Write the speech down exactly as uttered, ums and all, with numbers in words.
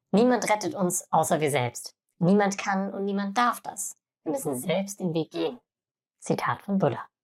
Niemand rettet uns außer wir selbst. Niemand kann und niemand darf das. Wir müssen selbst den Weg gehen. Zitat von Buddha.